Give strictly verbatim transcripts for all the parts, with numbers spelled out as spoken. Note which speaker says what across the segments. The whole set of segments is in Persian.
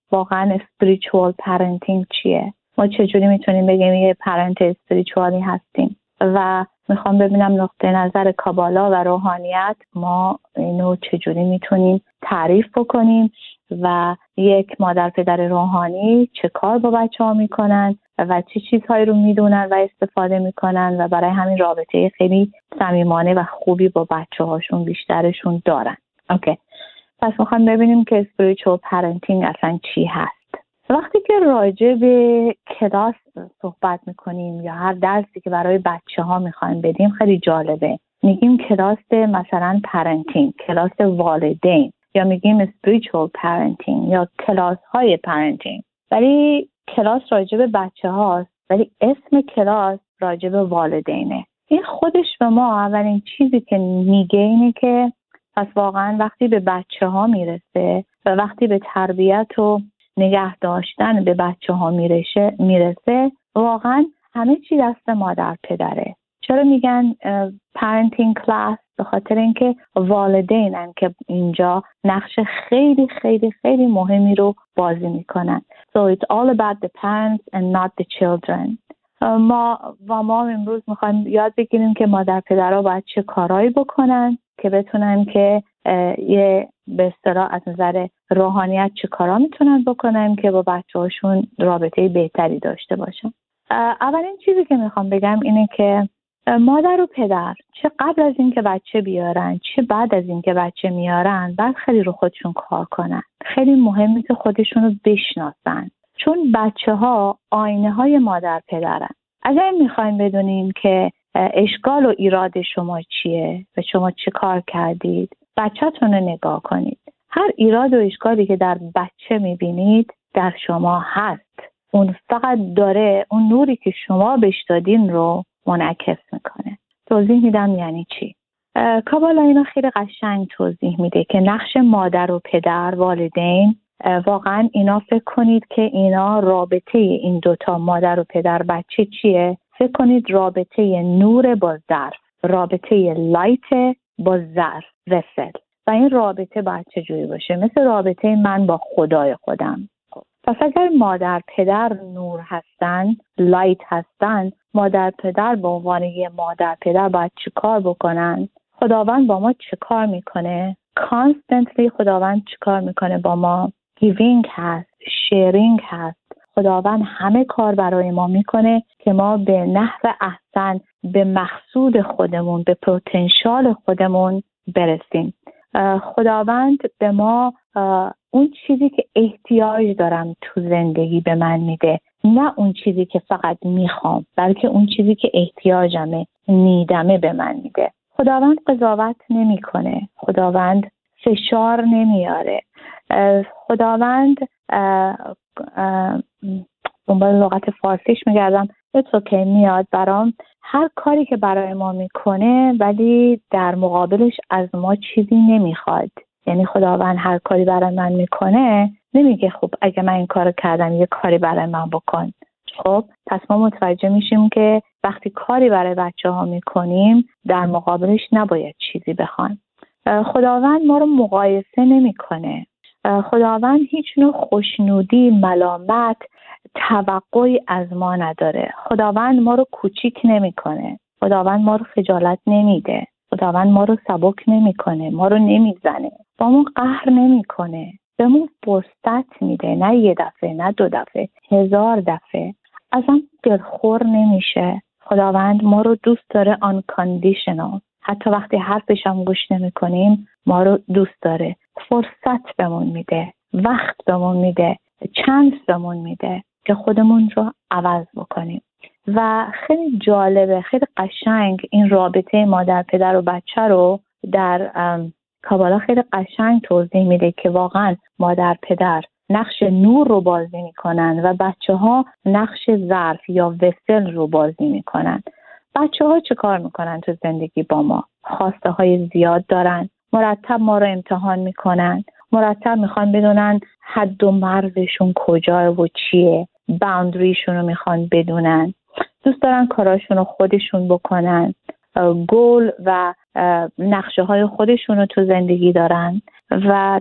Speaker 1: واقعا spiritual parenting چیه، ما چجوری میتونیم بگیم یه پرنت اسپریچوالی هستیم و میخوام ببینم نقطه نظر کابالا و روحانیت ما اینو چجوری میتونیم تعریف بکنیم و یک مادر پدر روحانی چه کار با بچه ها میکنن و چه چیزهایی رو میدونن و استفاده میکنن و برای همین رابطه خیلی صمیمانه و خوبی با بچه هاشون بیشترشون دارن. اوکی. پس میخوام ببینیم که spiritual parenting اصلا چی هست. وقتی که راجع به کلاس صحبت میکنیم یا هر درسی که برای بچه ها میخوایم بدیم خیلی جالبه. میگیم کلاس مثلا parenting، کلاس والدین، یا میگیم spiritual parenting یا کلاس های parenting. ولی کلاس راجع به بچه هاست ولی اسم کلاس راجع به والدینه. این خودش به ما اولین چیزی که میگه اینه که پس واقعا وقتی به بچه ها میرسه و وقتی به تربیت و نگه داشتن به بچه ها میرسه میرسه واقعا همه چی دست مادر پدره. چرا میگن parenting class؟ به خاطر اینکه والدینن که اینجا نقش خیلی خیلی خیلی مهمی رو بازی میکنن. So it's all about the parents and not the children. ما و ما امروز میخوایم یاد بگیریم که مادر پدرها باید چه کارهایی بکنن که بتونن که یه به اصطلاح از نظر روحانیت چه کارا میتونن بکنن که با بچه‌هاشون رابطه بهتری داشته باشن. اولین چیزی که میخوام بگم اینه که مادر و پدر چه قبل از اینکه بچه بیارن چه بعد از اینکه بچه میارن باید خیلی رو خودشون کار کنن. خیلی مهمه که خودشون رو بشناسن، چون بچه ها آینه های مادر پدرن. اگر میخوایم بدونیم که اشکال و ایراد شما چیه و شما چه کار کردید، بچه‌تون رو نگاه کنید. هر ایراد و اشکالی که در بچه میبینید در شما هست. اون فقط داره اون نوری که شما بهش دادین رو منعکس میکنه. توضیح میدم یعنی چی. کابالا اینا خیلی قشنگ توضیح میده که نقش مادر و پدر، والدین، واقعا اینا فکر کنید که اینا رابطه این دوتا مادر و پدر بچه چیه؟ فکر کنید رابطه نور با ظرف، رابطه لایت با ظرف وسل. و این رابطه باید چجوری باشه؟ مثل رابطه من با خدای خودم. پس اگر مادر پدر نور هستن، لایت هستن، مادر پدر به عنوان یه مادر پدر باید چی کار بکنن؟ خداوند با ما چی کار میکنه؟ کانستنتلی خداوند چی کار میکنه با ما؟ گیوینگ هست، شیرینگ هست. خداوند همه کار برای ما میکنه که ما به نحو احسن به مقصود خودمون، به پتانسیل خودمون برسیم. خداوند به ما اون چیزی که احتیاج دارم تو زندگی به من میده، نه اون چیزی که فقط میخوام، بلکه اون چیزی که احتیاجمه، نیدمه به من میده. خداوند قضاوت نمیکنه، خداوند فشار نمیاره، خداوند دنبال لغت فارسیش میگردم it's okay میاد برام، هر کاری که برای ما میکنه ولی در مقابلش از ما چیزی نمیخواد. یعنی خداوند هر کاری برای من میکنه نمیگه خب اگه من این کارو کردم یه کاری برای من بکن. خب پس ما متوجه میشیم که وقتی کاری برای بچه ها میکنیم در مقابلش نباید چیزی بخوان. خداوند ما رو مقایسه نمیکنه. خداوند هیچ نوع خوشنودی، ملامت، توقعی از ما نداره. خداوند ما رو کوچیک نمیکنه. خداوند ما رو خجالت نمیده. خداوند ما رو سبک نمیکنه، ما رو نمیزنه، با ما قهر نمیکنه، به ما فرصت میده، نه یه دفعه، نه دو دفعه، هزار دفعه. ازم دلخور نمیشه. خداوند ما رو دوست داره unconditional. حتی وقتی حرفش هم گوش نمیکنیم ما رو دوست داره. فرصت بهمون میده، وقت بهمون میده، چانس بهمون میده که خودمون رو عوض بکنیم. و خیلی جالبه، خیلی قشنگ این رابطه مادر پدر و بچه رو در کابالا خیلی قشنگ توضیح میده که واقعا مادر پدر نقش نور رو بازی میکنن و بچه ها نقش ظرف یا وسل رو بازی میکنن. بچه ها چه کار میکنن تو زندگی با ما؟ خواسته های زیاد دارن، مرتب ما رو امتحان میکنن، مرتب میخوان بدونن حد و مرزشون کجا و چیه، باوندریشون رو میخوان بدونن، دوست دارن کاراشون رو خودشون بکنن، گول و نقشه های خودشون رو تو زندگی دارن و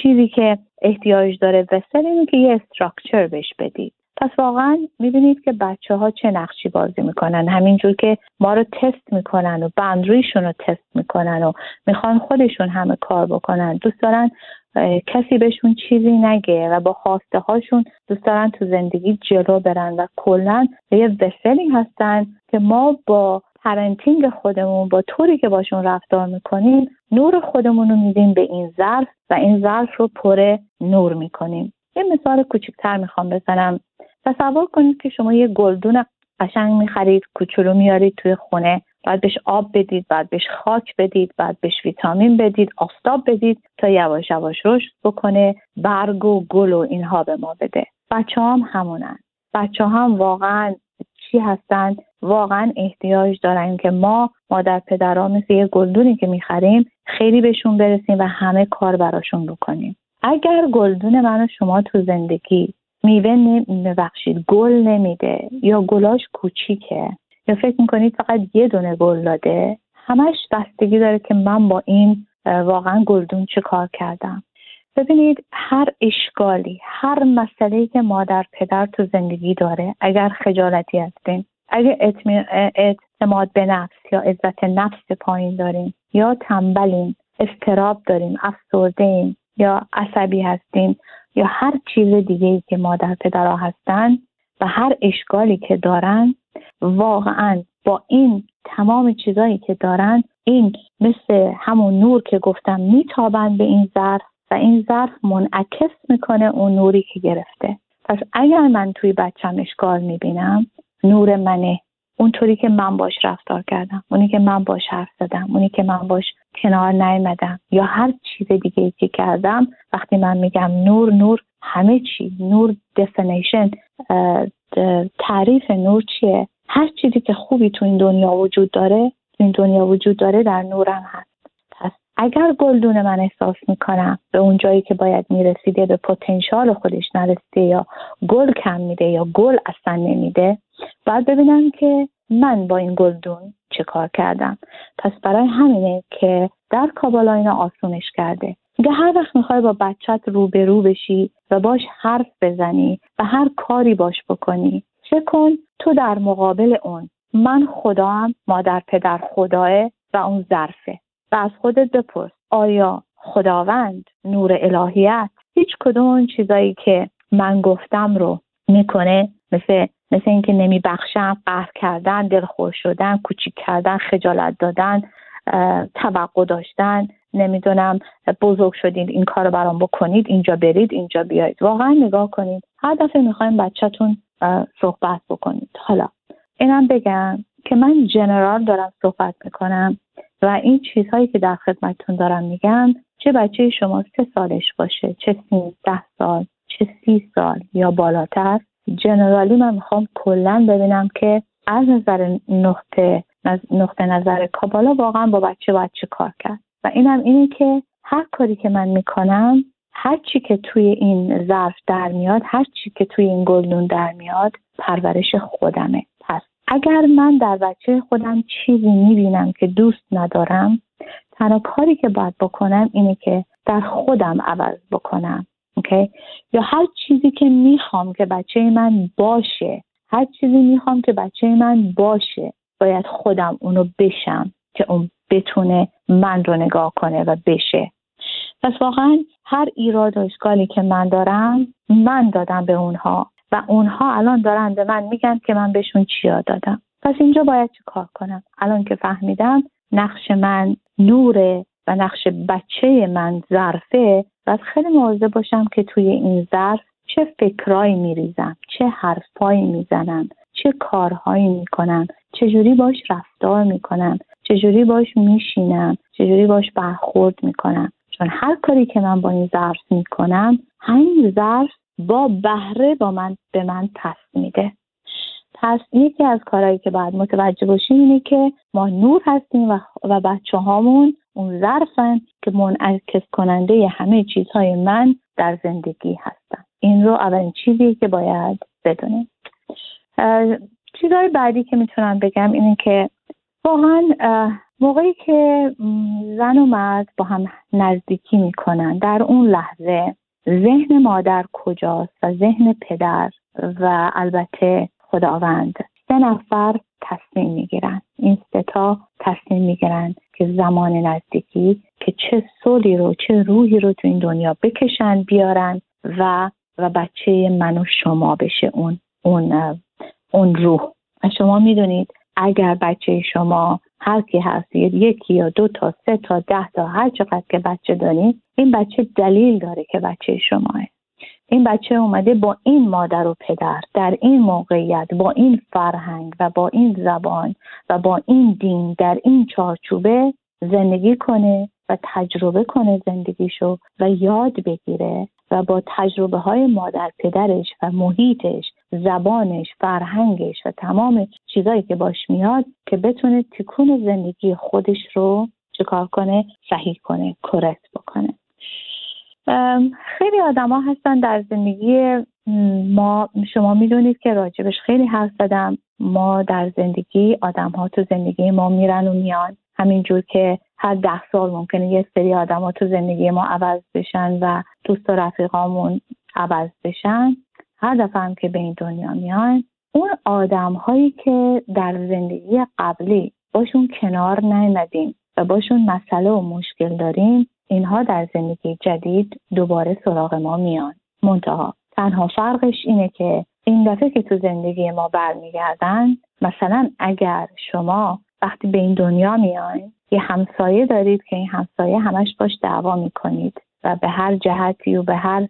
Speaker 1: چیزی که احتیاج داره وسل اینه که یه استراکچر بهش بدید. پس واقعا میبینید که بچه ها چه نقشی بازی میکنن، همینجور که ما رو تست میکنن و باندریشون رو تست میکنن و میخوان خودشون همه کار بکنن، دوست دارن کسی بهشون چیزی نگه و با خواسته هاشون دوست دارن تو زندگی جلو برن و کلن یه وسلی هستن که ما با پرنتینگ خودمون، با طوری که باشون رفتار میکنیم، نور خودمون رو میدیم به این ظرف و این ظرف رو پر نور میکنیم. یه مثال کوچکتر میخوام بزنم. تصور کنید که شما یه گلدون قشنگ میخرید، کوچولو میارید توی خونه، بعد بهش آب بدید، بعد بهش خاک بدید، بعد بهش ویتامین بدید، آفتاب بدید تا یواش یواش رشد بکنه، برگ و گل و اینها به ما بده. بچه هم همونن. بچه هم واقعا چی هستن؟ واقعا احتیاج دارن که ما مادر پدرها مثل یه گلدونی که میخریم خیلی بهشون برسیم و همه کار براشون بکنیم. اگر گلدون من و شما تو زندگی میوه نمیبخشید گل نمیده یا گلاش کوچیکه یا فکر میکنید فقط یه دونه گل داده، همش بستگی داره که من با این واقعا گلدون چه کار کردم. ببینید هر اشکالی، هر مسئله‌ای که مادر پدر تو زندگی داره، اگر خجالتی هستیم، اگر اعتماد به نفس یا عزت نفس پایین داریم یا تنبلیم، اضطراب داریم، افسرده‌ایم یا عصبی هستیم یا هر چیز دیگه‌ای که مادر پدرها هستن و هر اشکالی که دارن، واقعا با این تمام چیزایی که دارن، این مثل همون نور که گفتم میتابن به این ظرف و این ظرف منعکس میکنه اون نوری که گرفته. پس اگر من توی بچم اشکال میبینم، نور منه، اونطوری که من باش رفتار کردم، اونی که من باش حرف زدم، اونی که من باش کنار نیامدم یا هر چیز دیگه ای که کردم، وقتی من میگم نور، نور همه چی، نور دفینیشن، تعریف نور چیه؟ هر چیزی که خوبی تو این دنیا وجود داره، تو این دنیا وجود داره در نورم هست. پس اگر گلدون من احساس میکنم به اون جایی که باید میرسیده به پتانسیل خودش نرسیده یا گل کم میده یا گل اصلا نمیده، باید ببینم که من با این گلدون چه کار کردم. پس برای همینه که در کابالا اینا آسونش کرده. میگه هر وقت میخوای با بچت روبرو بشی و باش حرف بزنی و هر کاری باش بکنی، چه کن تو در مقابل اون من خدام، مادر پدر خداه و اون ظرفه و از خودت بپرس آیا خداوند، نور الهیت، هیچ کدوم اون چیزایی که من گفتم رو میکنه؟ مثل مثل اینکه نمیبخشم، قهر کردن، دلخور شدن، کوچیک کردن، خجالت دادن، توقع داشتن، نمیدونم بزرگ شدید این کارو برام بکنید، اینجا برید، اینجا بیایید. واقعا نگاه کنید، هر دفعه میخوایم بچه‌تون صحبت بکنید. حالا اینم بگم که من جنرال دارم صحبت میکنم و این چیزهایی که در خدمتتون دارم میگم، چه بچه شما سه سالش باشه، چه سیزده سال، چه سی سال یا بالاتر، جنرالی من میخوام کلن ببینم که از نظر نقطه نقطه نظر کابالا واقعا با بچه باید چه کار کرد. و اینم اینه که هر کاری که من میکنم، هر چی که توی این ظرف در میاد، هر چی که توی این گلدون در میاد، پرورش خودمه. پس اگر من در بچه خودم چیزی میبینم که دوست ندارم، تنها کاری که باید بکنم اینه که در خودم عوض بکنم. اوکی؟ یا هر چیزی که میخوام که بچه من باشه، هر چیزی میخوام که بچه من باشه، باید خودم اونو بشم که اون بتونه من رو نگاه کنه و بشه. پس واقعا هر ایراد و اشکالی که من دارم، من دادم به اونها و اونها الان دارن به من میگن که من بهشون چیا دادم. پس اینجا باید چه کار کنم؟ الان که فهمیدم نقش من نوره و نقش بچه من ظرفه، باید خیلی مواظب باشم که توی این ظرف چه فکرایی میریزم، چه حرفایی میزنم، چه کارهایی میکنم، چجوری باش رفتار میکنم، چجوری باش میشینم، چجوری باش برخورد میکنم. چون هر کاری که من با این ظرف میکنم، همین ظرف با بهره با من به من پس میده. پس یکی از کارهایی که باید متوجه باشیم اینه که ما نور هستیم و, و بچه هامون اون ظرفن که منعکس کننده همه چیزهای من در زندگی هستن. این رو اولین چیزی که باید بدونیم. چیزهای بعدی که میتونم بگم اینه که واقعا موقعی که زن و مرد با هم نزدیکی میکنن، در اون لحظه ذهن مادر کجاست و ذهن پدر و البته خداوند، سه نفر تصمیم میگیرن. این سه تا تصمیم میگیرن که زمان نزدیکی که چه صلحی رو، چه روحی رو تو این دنیا بکشن بیارن و و بچه من و شما بشه اون اون اون روح. شما میدونید اگر بچه شما هر کی هست، یکی یا دو تا، سه تا، ده تا، هر چقدر که بچه دارید، این بچه دلیل داره که بچه شماه. این بچه اومده با این مادر و پدر در این موقعیت، با این فرهنگ و با این زبان و با این دین در این چارچوبه زندگی کنه و تجربه کنه زندگیشو و یاد بگیره و با تجربه های مادر پدرش و محیطش، زبانش، فرهنگش و تمام چیزایی که باش میاد که بتونه تکون زندگی خودش رو چیکار کنه؟ صحیح کنه، کرکت بکنه. خیلی آدم ها هستن در زندگی ما، شما میدونید که راجبش خیلی حرف زدم، ما در زندگی آدم ها تو زندگی ما میرن و میان، همینجور که هر ده سال ممکنه یه سری آدم ها تو زندگی ما عوض بشن و دوست و رفیقامون عوض بشن. هر دفعه هم که به این دنیا میان، اون آدم هایی که در زندگی قبلی باشون کنار نیامدیم و باشون مسئله و مشکل داریم، اینها در زندگی جدید دوباره سراغ ما میان. منتها تنها فرقش اینه که این دفعه که تو زندگی ما برمیگردن، مثلا اگر شما وقتی به این دنیا میاین یه همسایه دارید که این همسایه همش باش دعوا میکنید و به هر جهتی و به هر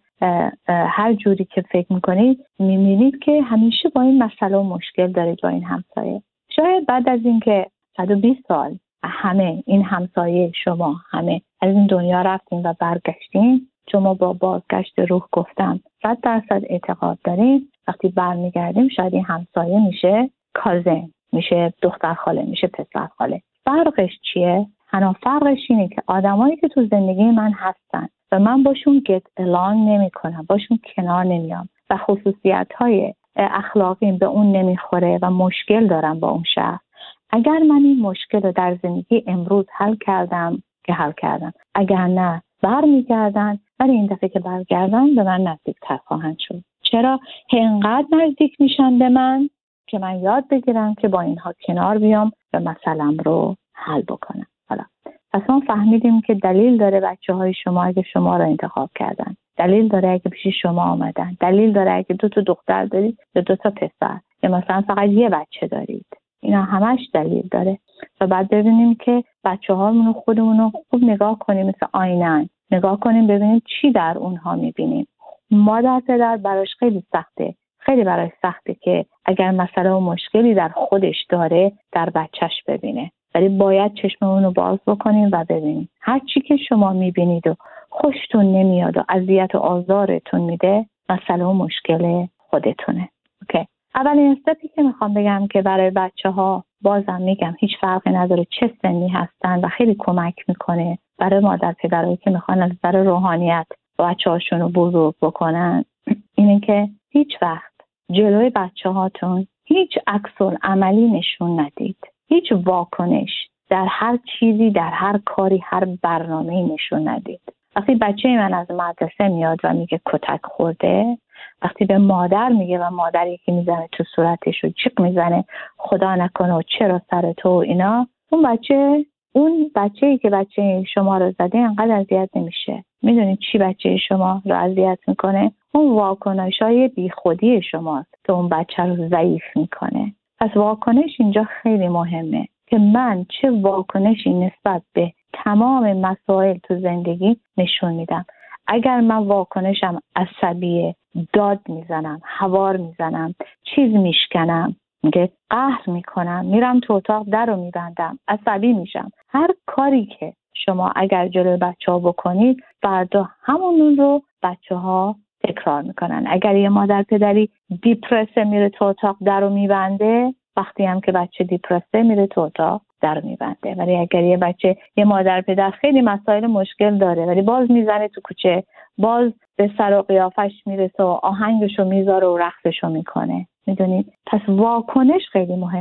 Speaker 1: هر جوری که فکر میکنید میبینید که همیشه با این مسئله و مشکل دارید با این همسایه. شاید بعد از اینکه صد و بیست سال همه این همسایه شما همه از این دنیا رفتیم و برگشتیم، شما با بازگشت روح گفتم صد درصد اعتقاد داریم وقتی برمیگردیم شاید این همسایه میشه کازن، میشه دختر خاله، میشه پسر خاله. فرقش چیه؟ تنها فرقش اینه که آدمایی که تو زندگی من هستن و من باشون گت الان نمی کنم، باشون کنار نمیام و خصوصیت‌های اخلاقیم به اون نمیخوره و مشکل دارم با اون شخص، اگر من این مشکل رو در زندگی امروز حل کردم که حل کردم، اگر نه برمیگردن، ولی این دفعه که برگردن به من نزدیک‌تر خواهند شد. چرا؟ اینقدر نزدیک میشن به من که من یاد بگیرم که با اینها کنار بیام و مسئله‌ام رو حل بکنم. حالا پس ما فهمیدیم که دلیل داره بچه های شما اگه شما رو انتخاب کردن، دلیل داره اگه پیش شما آمدن، دلیل داره اگه دو تا دختر دارید یا دو تا پسر یا مثلا فقط یه بچه دارید. اینا همش دلیل داره. و بعد ببینیم که بچه هامونو خودمونو خوب نگاه کنیم، مثل آینه نگاه کنیم ببینیم چی در اونها میبینیم. مادر پدر براش خیلی سخته، خیلی براش سخته که اگر مسئله و مشکلی در خودش داره در بچهش ببینه، ولی باید چشممون رو باز بکنیم و ببینیم هر چی که شما میبینید و خوشتون نمیاد و اذیت و آزارتون میده مسئله و مشکل خودتونه. اوکی. اولین استپی که میخوام بگم که برای بچه ها، بازم میگم هیچ فرقی نداره چه سنی هستن و خیلی کمک میکنه برای مادر پدرایی که میخوان از نظر روحانیت بچه هاشون رو بزرگ بکنن، اینه که هیچ وقت جلوی بچه هاتون هیچ عکس عملی نشون ندید، هیچ واکنش در هر چیزی، در هر کاری، هر برنامه‌ای نشون ندید. وقتی بچه من از مدرسه میاد و میگه کتک خورده، وقتی به مادر میگه و مادر یکی میزنه تو صورتش و جیغ میزنه خدا نکنه و چرا سر تو اینا، اون بچه اون بچه‌ای که بچه شما رو زده انقدر اذیت نمیشه. میدونید چی بچه شما رو اذیت میکنه؟ اون واکنش‌های بیخودی شماست که اون بچه رو ضعیف میکنه. پس واکنش اینجا خیلی مهمه که من چه واکنشی نسبت به تمام مسائل تو زندگی نشون میدم. اگر من واکنشم عصبیه، داد میزنم، هوار میزنم، چیز میشکنم، میگه قهر میکنم، میرم تو اتاق در رو میبندم، عصبی میشم، هر کاری که شما اگر جلوی بچه ها بکنید فردا همون رو بچه ها تکرار میکنن. اگر یه مادر پدری دیپرسه میره تو اتاق در رو میبنده، وقتی هم که بچه دیپرسه میره تو اتاق در میبنده. ولی اگر یه بچه یه مادر پدر خیلی مسائل مشکل داره ولی باز میزنه تو کوچه، باز به سر و قیافش میرسه و آهنگشو میذاره و رقصشو میکنه. میدونید؟ پس واکنش خیلی مهمه.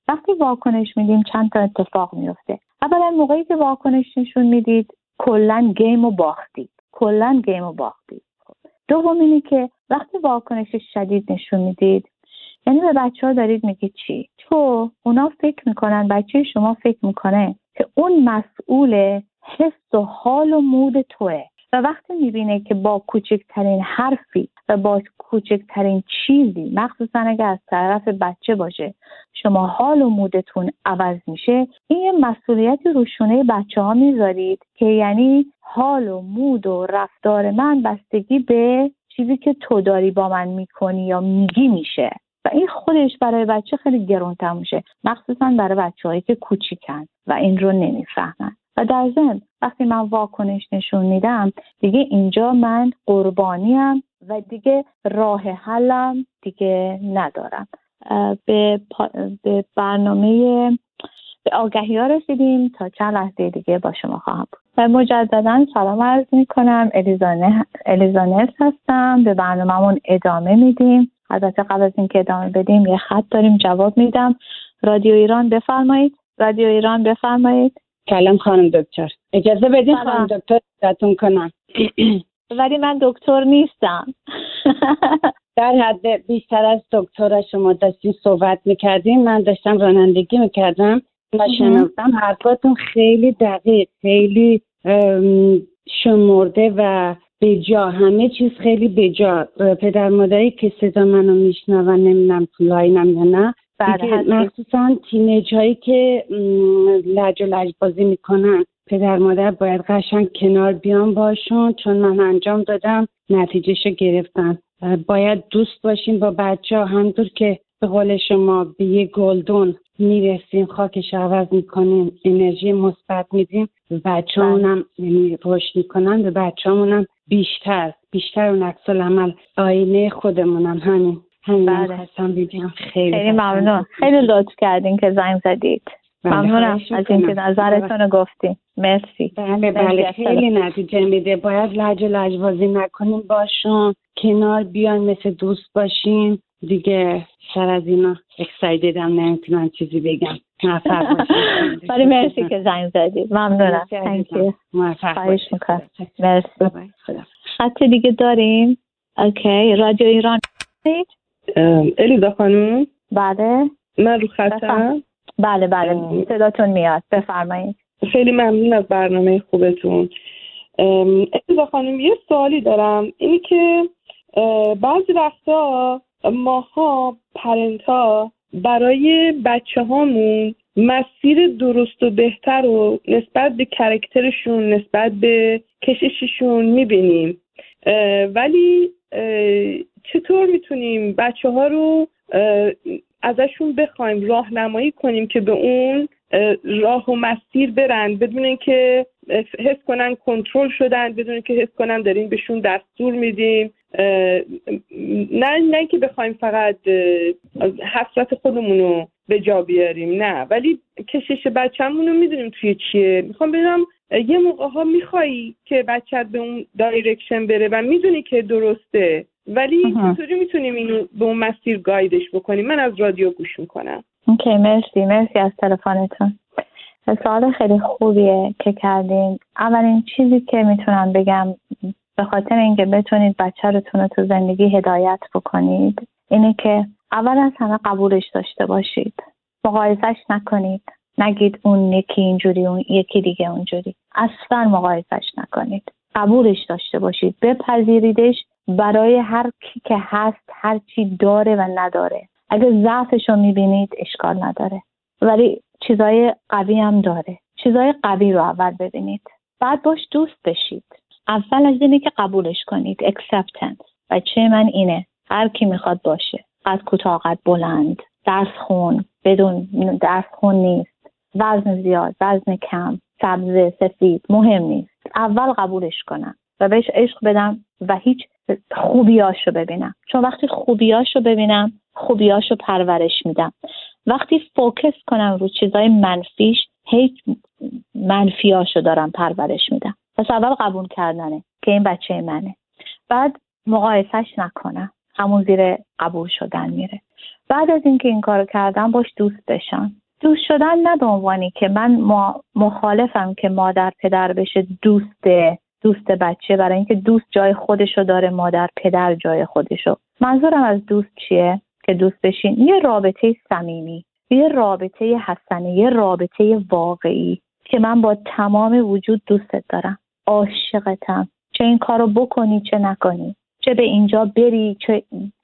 Speaker 1: وقتی واکنش میدیم چند تا اتفاق میفته. اولا موقعی که واکنش نشون میدید کلا گیم رو باختید، کلا گیم رو باختید. دوم اینه که وقتی واکنش شدید نشون میدید، یعنی به بچه ها دارید میگید چی؟ تو اونا فکر میکنن، بچه شما فکر میکنه که اون مسئول حس و حال و مود توه و وقتی میبینه که با کوچکترین حرفی و با کوچکترین چیزی، مخصوصا اگر از طرف بچه باشه، شما حال و مودتون عوض میشه، این یه مسئولیتی رو شونه بچه ها میذارید که یعنی حال و مود و رفتار من بستگی به چیزی که تو داری با من میکنی یا میگی میشه و این خودش برای بچه خیلی گران‌تر میشه، مخصوصا برای بچه‌هایی که کوچیکن و این رو نمیفهمن. و در ضمن وقتی من واکنش نشون میدم دیگه اینجا من قربانیم و دیگه راه حلم دیگه ندارم. به, پا... به برنامه به آگهی ها رسیدیم، تا چند لحظه دیگه با شما خواهم بود. و مجددا سلام عرض می کنم. الیزانه... الیزانت هستم. به برنامه‌مون ادامه میدیم. البته قبل از اینکه ادامه بدیم یه خط داریم، جواب میدم. رادیو ایران بفرمایید. رادیو ایران بفرمایید.
Speaker 2: سلام خانم دکتر، اجازه بدین خانم دکتر ازتون کنم.
Speaker 1: ولی من دکتر نیستم.
Speaker 2: در حد بیشتر از دکتر شما داشتیم صحبت میکردیم، من داشتم رانندگی میکردم و شنوندم حرفاتون خیلی دقیق، خیلی شمرده و بجا، همه چیز خیلی بجا. پدر مادری که صدا منو میشنون، نمیدونم تو لاینم یا نه، مخصوصا تینیج هایی که لج و لج بازی میکنن، پدر مادر باید قشنگ کنار بیان باشون، چون من انجام دادم نتیجهشو گرفتم. باید دوست باشیم با بچه ها، همونطور که به قول شما به یه گلدون میرسیم، خاکش عوض میکنیم، انرژی مثبت میدیم، به بچه همونم رشد میکنن، به بچه همونم بیشتر بیشتر اون عکس العمل آینه خودمونم. همین همین خواستم بگم. خیلی
Speaker 1: خیلی ممنون، خیلی لطف کردین که زنگ زدید. ممنونم از اینکه نظرتون رو گفتین. مرسی.
Speaker 2: بله بله خیلی نتیجه میده. باید لج و لجبازی نکنیم باشون، کنار بیان، مثل دوست باشیم دیگه. سر از اینا اکسایددم، نمیتونم چیزی بگم. موفق باشید.
Speaker 1: ولی مرسی که زنگ زدید. ممنونم. مرسی.
Speaker 2: موفق باشید.
Speaker 1: مرسی. خط دیگه داریم؟ اوکی. رادیو ایران.
Speaker 3: الیزا خانم.
Speaker 1: بله.
Speaker 3: من رو خطم.
Speaker 1: بله بله صداتون میاد، بفرمایید.
Speaker 3: خیلی ممنون از برنامه خوبتون. الیزا خانم یه سوالی دارم، اینی که بعضی وقتا ماها پرنتا برای بچه هامون مسیر درست و بهتر رو نسبت به کرکترشون، نسبت به کشششون میبینیم، ولی چطور میتونیم بچه ها رو ازشون بخوایم راهنمایی کنیم که به اون راه و مسیر برن بدون اینکه حس کنن کنترل شدن، بدون اینکه حس کنن داریم بهشون دستور میدیم، نه نه که بخوایم فقط حسرت خودمون رو به جا بیاریم، نه، ولی کشش بچه‌مون رو میدونیم توی چیه. میخوام ببینم یه موقع ها میخوایی که بچت به اون دایرکشن بره و میدونی که درسته، ولی چطوری میتونیم اینو به اون مسیر گایدش بکنیم؟ من از رادیو گوش میکنم.
Speaker 1: اوکی، مرسی مرسی از تلفنتون. سوال خیلی خوبیه که کردین. اولین چیزی که میتونم بگم به خاطر اینکه بتونید بچه‌تون رو تو زندگی هدایت بکنید اینه که اول از همه قبولش داشته باشید. مقایسش نکنید. نگید اون یکی اینجوری اون یکی دیگه اونجوری. اصلا مقایسش نکنید. قبولش داشته باشید. بپذیریدش برای هر کی که هست، هر چی داره و نداره. اگه ضعفش رو میبینید اشکال نداره، ولی چیزای قوی هم داره. چیزای قوی رو اول ببینید، بعد باش دوست بشید. اول از اینه که قبولش کنید. acceptance. بچه من اینه، هر کی میخواد باشه، قد کوتاه قد بلند، درس خون بدون درس خون نیست، وزن زیاد وزن کم، سبز سفید، مهم نیست. اول قبولش کنم و بهش عشق بدم و هیچ خوبیاشو ببینم، چون وقتی خوبیاشو ببینم خوبیاشو پرورش میدم. وقتی فوکس کنم رو چیزای منفیش، هیچ منفیاشو دارم پرورش میدم. پس اول قبول کردنه که این بچه منه، بعد مقایسش نکنم، همون زیر قبول شدن میره. بعد از اینکه این کارو کردن باش دوست بشن. دوست شدن نه به عنوانی که من مخالفم که مادر پدر بشه دوست دوست بچه، برای اینکه دوست جای خودشو داره، مادر پدر جای خودشو. منظورم از دوست چیه؟ که دوست بشین یه رابطه صمیمی، یه رابطه حسنه، یه رابطه واقعی که من با تمام وجود دوستت دارم، عاشقتم، چه این کارو بکنی چه نکنی، چه به اینجا بری، چه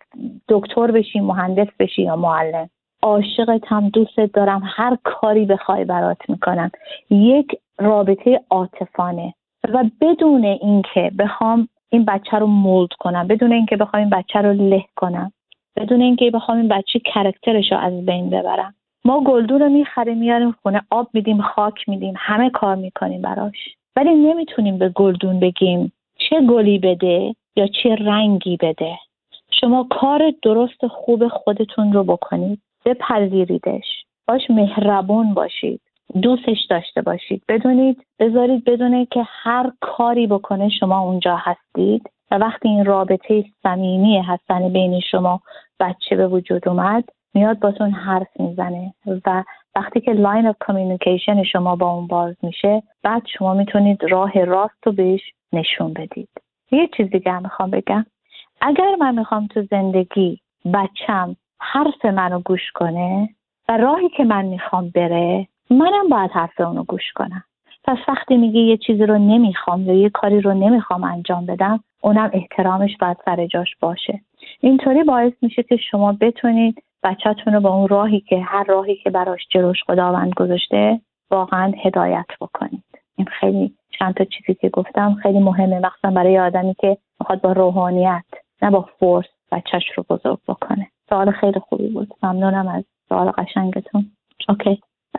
Speaker 1: دکتر بشی، مهندس بشی یا معلم، عاشقتم، دوستت دارم، هر کاری بخوای برات میکنم. یک رابطه عاطفانه و بدون اینکه بخوام این بچه رو مولد کنم، بدون اینکه بخوام این بچه رو له کنم، بدون اینکه بخوام این بچه کاراکترش رو از بین ببرم. ما گلدون رو میخریم میاریم خونه، آب میدیم، خاک میدیم، همه کار میکنیم براش، ولی نمیتونیم به گلدون بگیم چه گلی بده یا چه رنگی بده. شما کار درست خوب خودتون رو بکنید، بپذیریدش، باش مهربون باشید، دوستش داشته باشید، بدونید بذارید بدونه که هر کاری بکنه شما اونجا هستید و وقتی این رابطه صمیمی هستن بین شما بچه به وجود اومد میاد باتون حرف میزنه و وقتی که لاین اف کامیونیکیشن شما با اون باز میشه بعد شما میتونید راه راست رو بهش نشون بدید. یه چیز دیگه هم میخوام بگم، اگر من میخوام تو زندگی بچم حرف منو گوش کنه و راهی که من میخوام بره، منم باید حرف اونو گوش کنم. پس وقتی میگه یه چیزی رو نمیخوام یا یه کاری رو نمیخوام انجام بدم، اونم احترامش باید سر جاش باشه. اینطوری باعث میشه که شما بتونید بچه‌تون رو با اون راهی که هر راهی که براش جلوش خداوند گذاشته واقعا هدایت بکنید. این خیلی چند تا چیزی که گفتم خیلی مهمه، مخصوصا برای آدمی که میخواد با روحانیت نه با فورس بچه‌ش رو بزرگ بکنه. سوال خیلی خوبی بود، ممنونم از سوال قشنگتون. اوکی.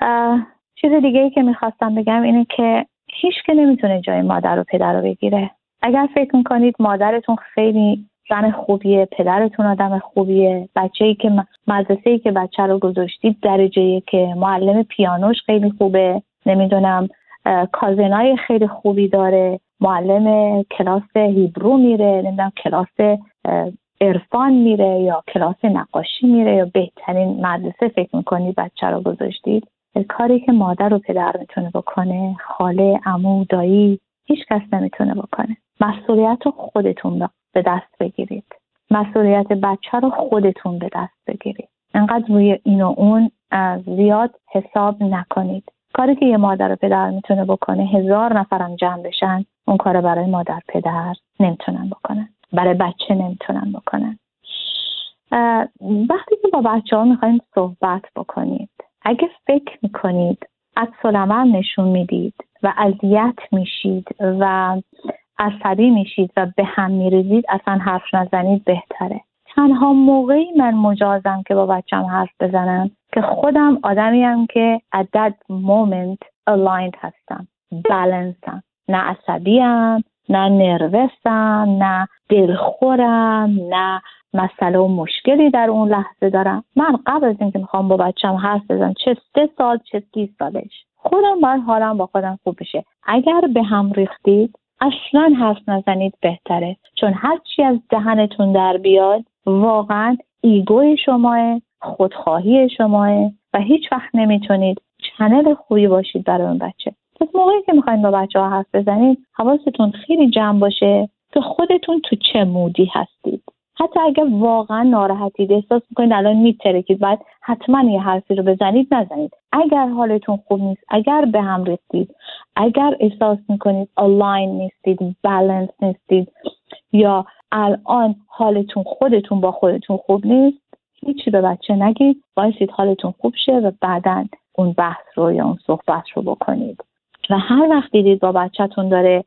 Speaker 1: چیز دیگه ای که میخواستم بگم اینه که هیچ که نمیتونه جای مادر و پدر رو بگیره. اگر فکر میکنید مادرتون خیلی زن خوبیه، پدرتون آدم خوبیه، بچه‌ای که مدرسه‌ای که بچه رو گذاشتید درجه‌ای که معلم پیانوش خیلی خوبه، نمیدونم کازنای خیلی خوبی داره، معلم کلاس هیبرو میره، نمیدونم کلاس عرفان میره یا کلاس نقاشی میره یا بهترین مدرسه فکر میکنید بچه رو گذاشتید، کاری که مادر و پدر میتونه بکنه، خاله، عمو، دایی، هیچ کس نمیتونه بکنه. مسئولیت رو خودتون به دست بگیرید. مسئولیت بچه رو خودتون به دست بگیرید. انقدر روی این و اون زیاد حساب نکنید. کاری که یه مادر و پدر میتونه بکنه، هزار نفرم جمع بشن اون کار برای مادر پدر نمیتونن بکنن، برای بچه نمیتونن بکنن. وقتی که با بچه ها میخواین صحبت بکنید، اگه فکر میکنید عکس‌العمل نشون میدید و اذیت میشید و عصبی میشید و به هم میریزید، اصلا حرف نزنید بهتره. تنها موقعی من مجازم که با بچم حرف بزنم که خودم آدمیم که at that moment aligned هستم، بالانسم، نه عصبیم، نه نروسم، نه دلخورم، نه مسئله و مشکلی در اون لحظه دارم. من قبل از اینکه میخوام با بچم حرف بزنم، چه سه سال چه سی سالش، خودم باید حالم با خودم خوب بشه. اگر به هم ریختید اصلا حرف نزنید بهتره، چون هر چی از دهنتون در بیاد واقعا ایگوی شماه، خودخواهی شماه و هیچ وقت نمیتونید چنل خوبی باشید برای اون بچه. پس موقعی که میخواین با بچه ها حرف بزنید حواستون خیلی جمع باشه که خودتون تو چه مودی هستید. حتی اگه واقعا ناراحتید، احساس میکنید الان میترکید، باید حتما یه حرفی رو بزنید، نزنید. اگر حالتون خوب نیست، اگر به هم ریختید، اگر احساس میکنید الاین نیستید، بالانس نیستید یا الان حالتون خودتون با خودتون خوب نیست، هیچی به بچه نگید، وایسید حالتون خوب شه و بعداً اون بحث رو یا اون صحبت رو بکنید. و هر وقت دیدید با بچه‌تون داره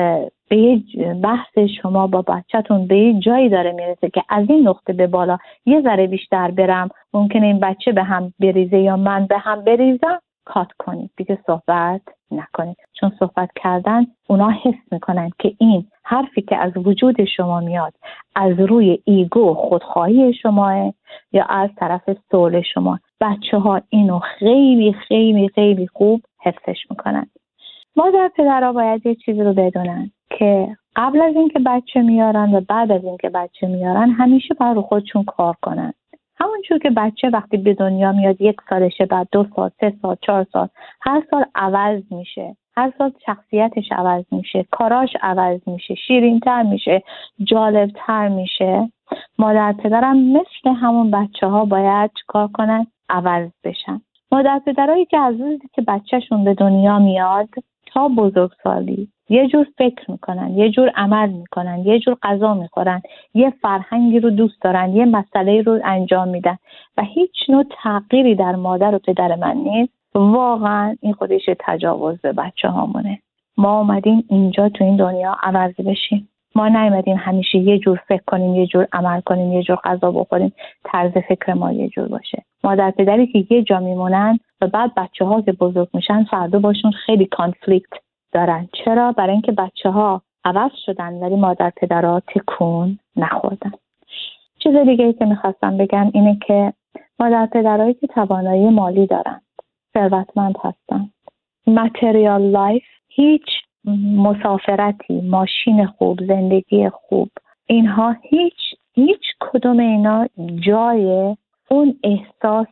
Speaker 1: به یه بحث شما با بچه‌تون به یه جایی داره میرسه که از این نقطه به بالا یه ذره بیشتر برم، ممکنه این بچه به هم بریزه یا من به هم بریزم، کات کنید، دیگه صحبت نکنید. چون صحبت کردن اونا حس میکنن که این حرفی که از وجود شما میاد از روی ایگو خودخواهی شماه یا از طرف سول شما. بچه ها اینو خیلی خیلی خیلی خوب حفظش میکنن. مادر پدرها باید یه چیزی رو بدونن که قبل از اینکه بچه میارن و بعد از اینکه بچه میارن همیشه باید رو خودشون کار کنن. همونجور که بچه وقتی به دنیا میاد یک سالشه، بعد دو سال، سه سال، چهار سال، هر سال عوض میشه، هر سال شخصیتش عوض میشه، کاراش عوض میشه، شیرین‌تر میشه، جالبتر میشه. مادر پدرم مثل همون بچه ها باید چیکار کنن؟ عوض بشن. مادر پدرایی که از روزی که بچهشون به دنیا میاد تا بزرگسالی یه جور فکر میکنن، یه جور عمل میکنن، یه جور غذا میخورن، یه فرهنگی رو دوست دارن، یه مسئله رو انجام میدن و هیچ نوع تغییری در مادر و پدر من نیست، واقعا این خودش تجاوز به بچه هامونه. ما اومدیم اینجا تو این دنیا عوض بشیم. ما نیومدیم همیشه یه جور فکر کنیم، یه جور عمل کنیم، یه جور غذا بخوریم، طرز فکر ما یه جور باشه. مادر پدری که یه جا میمونن و بعد بچه ها که بزرگ میشن فردا باشون خیلی کانفلیکت دارن. چرا؟ برای اینکه بچه ها عوض شدن ولی مادر پدرها تکون نخوردن. چیز دیگه ای که میخواستم بگم اینه که مادر پدرهایی که توانایی مالی دارن، ثروتمند هستن، ماتریال لایف، هیچ مسافرتی، ماشین خوب، زندگی خوب، اینها هیچ هیچ کدوم اینا جای اون احساس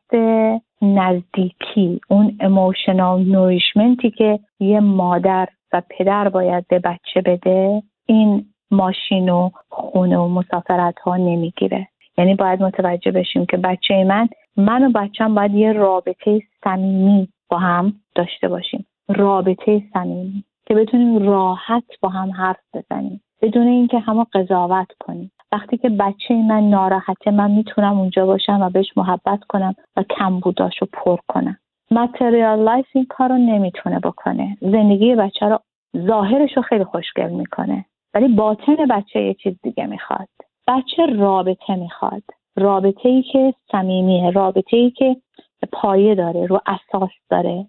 Speaker 1: نزدیکی، اون ایموشنال نوریشمنتی که یه مادر و پدر باید به بچه بده، این ماشین و خونه و مسافرت ها نمیگیره. یعنی باید متوجه بشیم که بچه من من و بچه‌م باید یه رابطه صمیمی با هم داشته باشیم، رابطه صمیمی که بتونیم راحت با هم حرف بزنیم بدون اینکه همو قضاوت کنیم. وقتی که بچه من ناراحته من میتونم اونجا باشم و بهش محبت کنم و کمبوداشو پر کنم. ماتریال لایف این کارو نمیتونه بکنه. زندگی بچه رو ظاهرشو خیلی خوشگل میکنه ولی باطن بچه یه چیز دیگه میخواد. بچه رابطه میخواد، رابطه‌ای که صمیمیه، رابطه‌ای که پایه داره، رو اساس داره،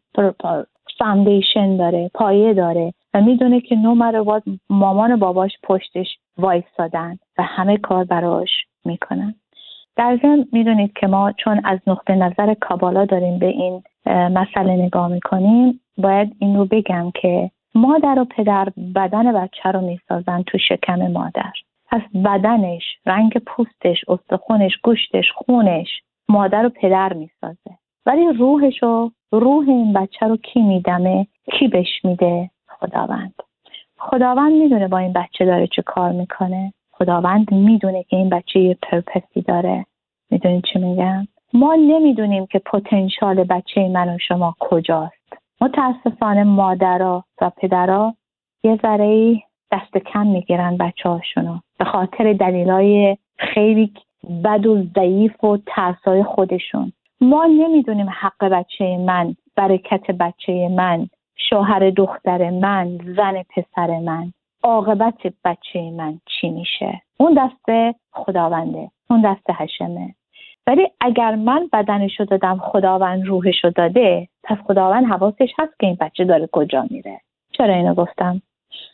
Speaker 1: فاندیشن داره، پایه داره و میدونه که نو مر مامان و باباش پشتش وایسادن و همه کار براش میکنن. در ضمن میدونید که ما چون از نقطه نظر کابالا داریم به این مسئله نگاه میکنیم، باید این رو بگم که مادر و پدر بدن بچه رو میسازن تو شکم مادر. پس بدنش، رنگ پوستش، استخونش، گوشتش، خونش مادر و پدر میسازه. ولی روحشو، روح این بچه رو کی میدمه؟ کی بهش میده؟ خداوند. خداوند میدونه با این بچه داره چه کار میکنه. خداوند میدونه که این بچه یه پرپسی داره. میدونید چی میگم؟ ما نمیدونیم که پتانسیل بچه من و شما کجاست. متاسفانه مادرها و پدرها یه ذره دست کم میگیرن بچه هاشونو به خاطر دلیلای خیلی بد و ضعیف و ترسای خودشون. ما نمیدونیم حق بچه من، برکت بچه من، شوهر دختر من، زن پسر من، عاقبت بچه من چی میشه. اون دست خداونده، اون دست حشمه. ولی اگر من بدنشو دادم خداوند روحشو داده، پس خداوند حواسش هست که این بچه داره کجا میره. چرا اینو گفتم؟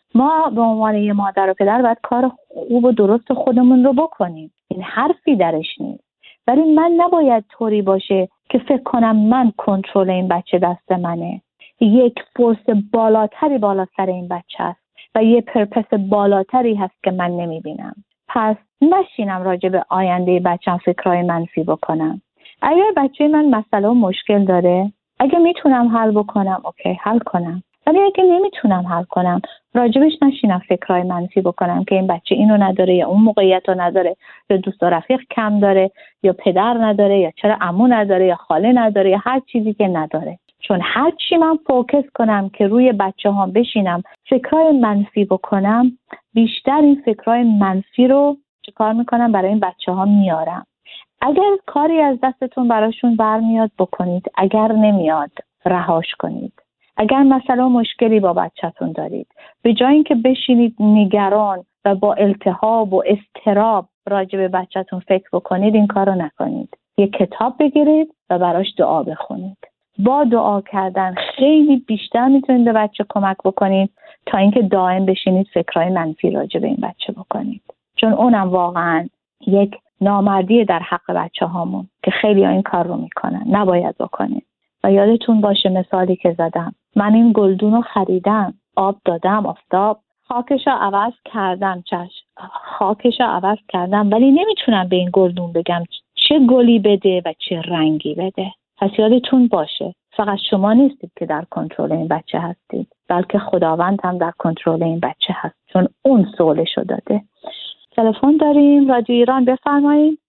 Speaker 1: ما به عنوان یه مادر و پدر باید کار خوب و درست خودمون رو بکنیم. این حرفی درش نیست. ولی من نباید طوری باشه که فکر کنم من کنترل این بچه دست منه. یک فورس بالاتری بالا سر این بچه است و یه پرپس بالاتری هست که من نمیبینم. پس نشینم راجع به آینده بچه‌م فکرای منفی بکنم. اگر بچه من مسئله و مشکل داره، اگه میتونم حل بکنم اوکی حل کنم. ولی اگه نمیتونم حل کنم راجبش نشینم فکرای منفی بکنم که این بچه اینو نداره یا اون موقعیت رو نداره یا دوست و رفیق کم داره یا پدر نداره یا چرا عمو نداره یا خاله نداره یا هر چیزی که نداره. چون هر چی من فوکس کنم که روی بچه ها بشینم فکرای منفی بکنم، بیشتر این فکرای منفی رو چه کار میکنم برای این بچه ها میارم. اگر کاری از دستتون براشون برمیاد بکنید، اگر نمیاد رهاش کنید. اگر مسئله و مشکلی با بچه‌تون دارید، به جای اینکه بشینید نگران و با التهاب و اضطراب راجع به بچه‌تون فکر بکنید، این کارو نکنید. یک کتاب بگیرید و براش دعا بخونید. با دعا کردن خیلی بیشتر میتونید به بچه کمک بکنید تا اینکه دائم بشینید فکرای منفی راجع به این بچه بکنید. چون اونم واقعا یک نامردی در حق بچه هامون که خیلی ها این کار رو میکنن. نباید بکنید. و یادتون باشه مثالی که زدم، من این گلدون رو خریدم، آب دادم، آفتاب، خاکش رو عوض کردم، چشم خاکش رو عوض کردم، ولی نمیتونم به این گلدون بگم چه گلی بده و چه رنگی بده. پس یادتون باشه فقط شما نیستید که در کنترل این بچه هستید، بلکه خداوند هم در کنترل این بچه هست، چون اون سولشو داده. تلفن داریم رادیو ایران، بفرمایید.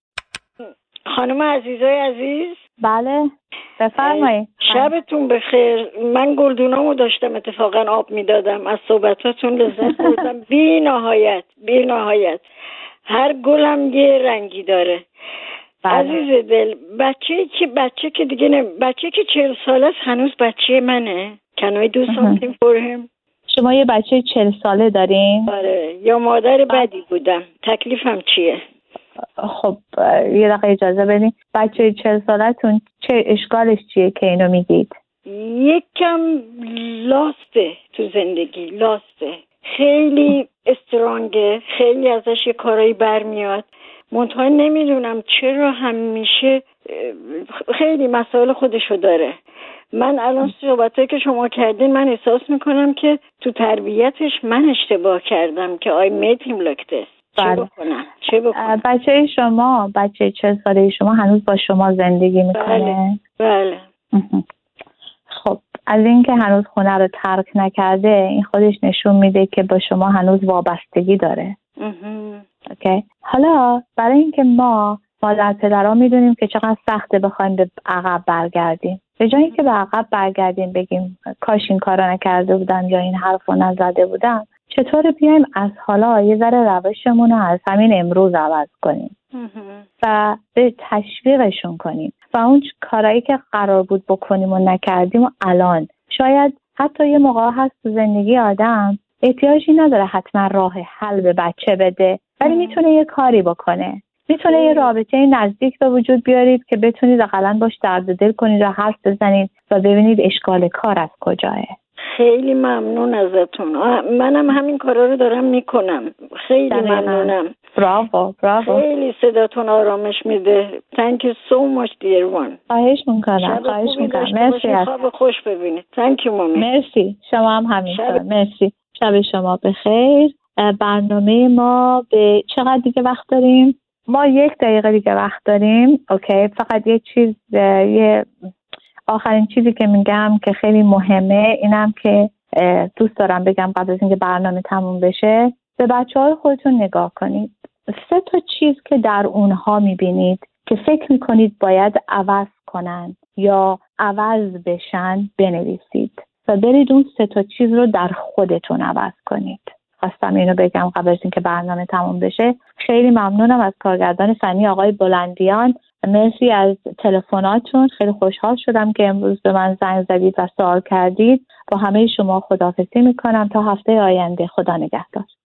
Speaker 4: خانم عزیزای عزیز.
Speaker 1: بله بفرمایید.
Speaker 4: شبتون بخیر. من گلدونامو داشتم اتفاقا آب میدادم، از صحبتاتون لذت بردم. بی نهایت بی نهایت. هر گلم یه رنگی داره. بله. عزیز دل، بچه که بچه که دیگه نه، بچه که چهل ساله است هنوز بچه منه. Can I do something for him؟
Speaker 1: شما یه بچه چهل ساله دارین؟
Speaker 4: آره. یا مادر بدی بودم. تکلیفم چیه؟
Speaker 1: خب یه دقیقه اجازه بدین. بچه چهل سالتون چه اشکالش چیه که اینو میگید؟
Speaker 4: یکم لاسته تو زندگی، لاسته. خیلی استرانگه، خیلی ازش یه کارایی برمیاد. منتها نمیدونم چرا همیشه خیلی مسائل خودشو داره. من الان صحبتایی که شما کردین من احساس میکنم که تو تربیتش من اشتباه کردم که I made him like this. چه بکنم؟ چه بکنم؟
Speaker 1: بچه شما، بچه چه ساله شما هنوز با شما زندگی میکنه؟
Speaker 4: بله. بله.
Speaker 1: خب از این که هنوز خونه رو ترک نکرده، این خودش نشون میده که با شما هنوز وابستگی داره. اوکی. حالا برای اینکه ما مادر پدرها میدونیم که چقدر سخته بخوایم به عقب برگردیم، به جای اینکه به عقب برگردیم بگیم کاش این کارا نکرده بودم یا این حرفو نزده بودم، چطور بیایم از حالا یه ذره روشمون رو از همین امروز عوض کنیم و به تشویقشون کنیم و اون کارهایی که قرار بود بکنیم و نکردیم و الان شاید حتی یه موقع هست تو زندگی آدم احتیاجی نداره حتما راه حل به بچه بده، ولی میتونه یه کاری بکنه. میتونه یه رابطه نزدیک به وجود بیارید که بتونید اقلاً باش درد دل کنید و حرف بزنید و ببینید اشکال کار از کجاه.
Speaker 4: خیلی ممنون ازتون. منم همین کارا رو دارم میکنم. خیلی دقیقا. ممنونم.
Speaker 1: براو براو.
Speaker 4: خیلی صداتون آرامش میده. Thank you so much dear one.
Speaker 1: خواهش میکنم. خواهش میکنم. مرسی.
Speaker 4: خواب خوش ببینید. Thank you مامی.
Speaker 1: مرسی. شما هم همینطور. مرسی. شب شما بخیر. برنامه ما به چقدر دیگه وقت داریم؟ ما یک دقیقه دیگه وقت داریم. اوکی. فقط یه چیز، یه آخرین چیزی که میگم که خیلی مهمه اینم که دوست دارم بگم قبل از اینکه برنامه تموم بشه، به بچه‌های خودتون نگاه کنید. سه تا چیز که در اونها میبینید که فکر میکنید باید عوض کنن یا عوض بشن بنویسید و برید اون سه تا چیز رو در خودتون عوض کنید. خواستم اینو بگم قبل از اینکه برنامه تموم بشه. خیلی ممنونم از کارگردان فنی آقای بلندیان. مرسی از تلفناتون. خیلی خوشحال شدم که امروز به من زنگ زدید و سوال کردید. با همه شما خداحافظی میکنم تا هفته آینده. خدا نگهدار.